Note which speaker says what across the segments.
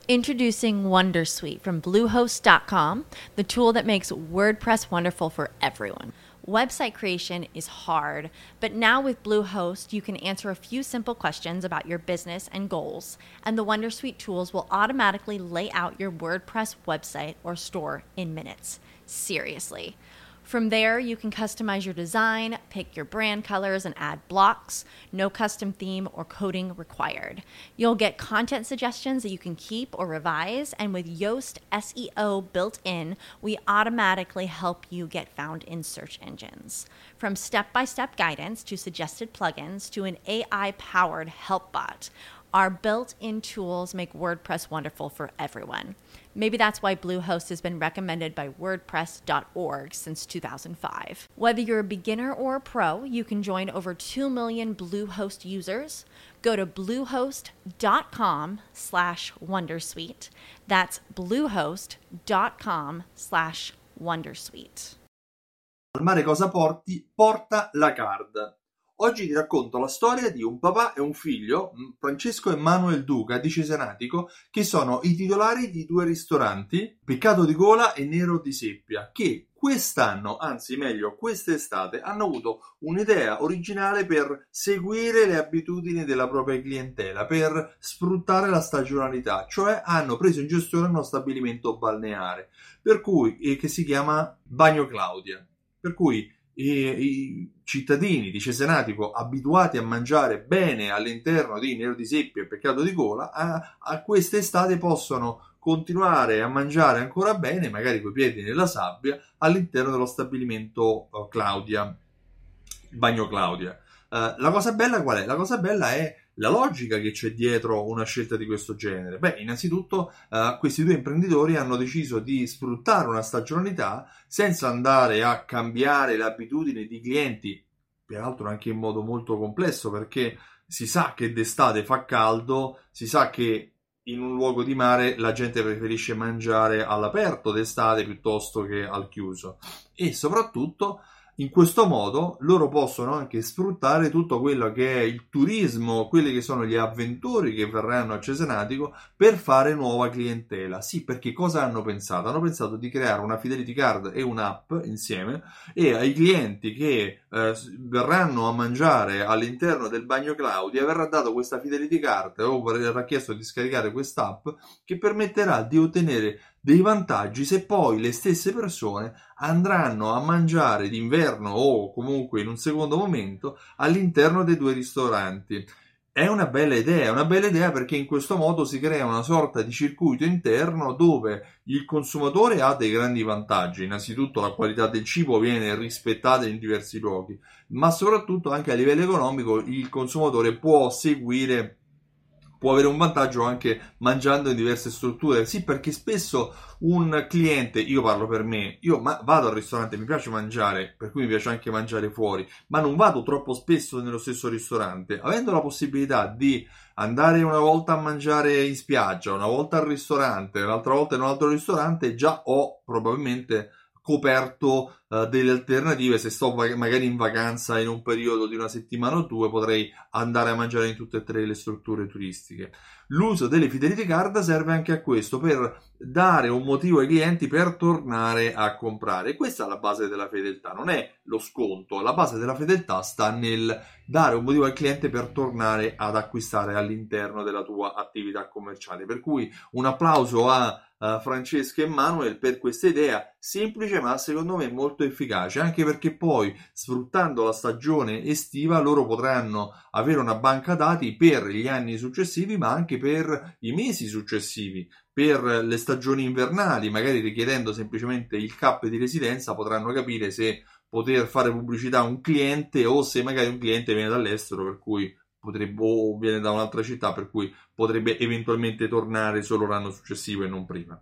Speaker 1: Introducing Wondersuite from Bluehost.com, the tool that makes WordPress wonderful for everyone. Website creation is hard, but now with Bluehost, you can answer a few simple questions about your business and goals, and the Wondersuite tools will automatically lay out your WordPress website or store in minutes. Seriously. From there, you can customize your design, pick your brand colors, and add blocks. No custom theme or coding required. You'll get content suggestions that you can keep or revise, and with Yoast SEO built in, we automatically help you get found in search engines. From step-by-step guidance to suggested plugins to an AI-powered help bot, our built-in tools make WordPress wonderful for everyone. Maybe that's why Bluehost has been recommended by WordPress.org since 2005. Whether you're a beginner or a pro, you can join over 2 million Bluehost users. Go to bluehost.com/wondersuite. That's bluehost.com/wondersuite.
Speaker 2: Al mare cosa porta la card. Oggi ti racconto la storia di un papà e un figlio, Francesco e Manuel Duca di Cesenatico, che sono i titolari di due ristoranti, Peccato di Gola e Nero di Seppia, che quest'anno, anzi meglio quest'estate, hanno avuto un'idea originale per seguire le abitudini della propria clientela, per sfruttare la stagionalità, cioè hanno preso in gestione uno stabilimento balneare, per cui, che si chiama Bagno Claudia, per cui i cittadini di Cesenatico abituati a mangiare bene all'interno di Nero di Seppia e Peccato di Gola a quest'estate possono continuare a mangiare ancora bene, magari coi piedi nella sabbia, all'interno dello stabilimento Claudia, il Bagno Claudia. La cosa bella qual è? La cosa bella è la logica che c'è dietro una scelta di questo genere. Beh, innanzitutto questi due imprenditori hanno deciso di sfruttare una stagionalità senza andare a cambiare le abitudini di clienti, peraltro anche in modo molto complesso, perché si sa che d'estate fa caldo, si sa che in un luogo di mare la gente preferisce mangiare all'aperto d'estate piuttosto che al chiuso, e soprattutto in questo modo loro possono anche sfruttare tutto quello che è il turismo, quelli che sono gli avventori che verranno a Cesenatico per fare nuova clientela. Sì, perché cosa hanno pensato? Hanno pensato di creare una Fidelity Card e un'app insieme, e ai clienti che verranno a mangiare all'interno del Bagno Claudia verrà dato questa Fidelity Card o verrà chiesto di scaricare quest'app che permetterà di ottenere dei vantaggi se poi le stesse persone andranno a mangiare d'inverno o comunque in un secondo momento all'interno dei due ristoranti. È una bella idea perché in questo modo si crea una sorta di circuito interno dove il consumatore ha dei grandi vantaggi. Innanzitutto la qualità del cibo viene rispettata in diversi luoghi, ma soprattutto anche a livello economico il consumatore può avere un vantaggio anche mangiando in diverse strutture. Sì, perché spesso un cliente, io parlo per me, vado al ristorante, mi piace mangiare, per cui mi piace anche mangiare fuori, ma non vado troppo spesso nello stesso ristorante. Avendo la possibilità di andare una volta a mangiare in spiaggia, una volta al ristorante, un'altra volta in un altro ristorante, già ho probabilmente coperto delle alternative. Se sto magari in vacanza in un periodo di una settimana o due, potrei andare a mangiare in tutte e tre le strutture turistiche. L'uso delle Fidelity Card serve anche a questo, per dare un motivo ai clienti per tornare a comprare. Questa è la base della fedeltà, non è lo sconto. La base della fedeltà sta nel dare un motivo al cliente per tornare ad acquistare all'interno della tua attività commerciale. Per cui un applauso a Francesco e Manuel per questa idea semplice, ma secondo me molto efficace, anche perché poi, sfruttando la stagione estiva, loro potranno avere una banca dati per gli anni successivi, ma anche per i mesi successivi, per le stagioni invernali. Magari richiedendo semplicemente il CAP di residenza potranno capire se poter fare pubblicità a un cliente o se magari un cliente viene dall'estero, per cui o viene da un'altra città, per cui potrebbe eventualmente tornare solo l'anno successivo e non prima.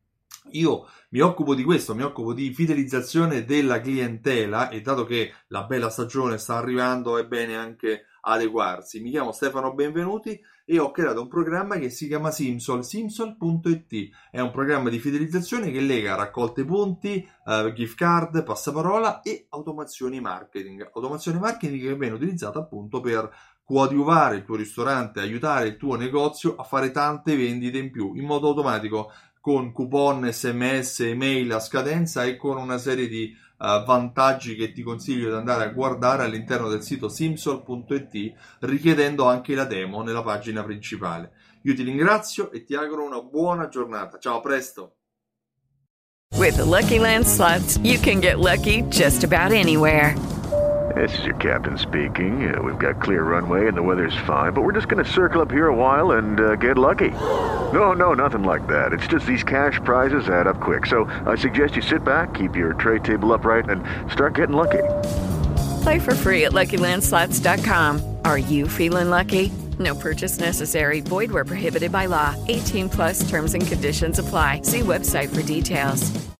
Speaker 2: Io mi occupo di questo, mi occupo di fidelizzazione della clientela, e dato che la bella stagione sta arrivando è bene anche adeguarsi. Mi chiamo Stefano Benvenuti e ho creato un programma che si chiama Simsol, simsol.it. È un programma di fidelizzazione che lega raccolte punti, gift card, passaparola e automazioni marketing che viene utilizzata appunto per coadiuvare il tuo ristorante, aiutare il tuo negozio a fare tante vendite in più, in modo automatico, con coupon, SMS, email a scadenza e con una serie di vantaggi che ti consiglio di andare a guardare all'interno del sito simsol.it, richiedendo anche la demo nella pagina principale. Io ti ringrazio e ti auguro una buona giornata. Ciao, a presto!
Speaker 3: With the Lucky Land Slots, you can get lucky just about anywhere.
Speaker 4: This is your captain speaking. We've got clear runway and the weather's fine, but we're just going to circle up here a while and get lucky. No, nothing like that. It's just these cash prizes add up quick. So I suggest you sit back, keep your tray table upright, and start getting lucky.
Speaker 3: Play for free at LuckyLandSlots.com. Are you feeling lucky? No purchase necessary. Void where prohibited by law. 18+ terms and conditions apply. See website for details.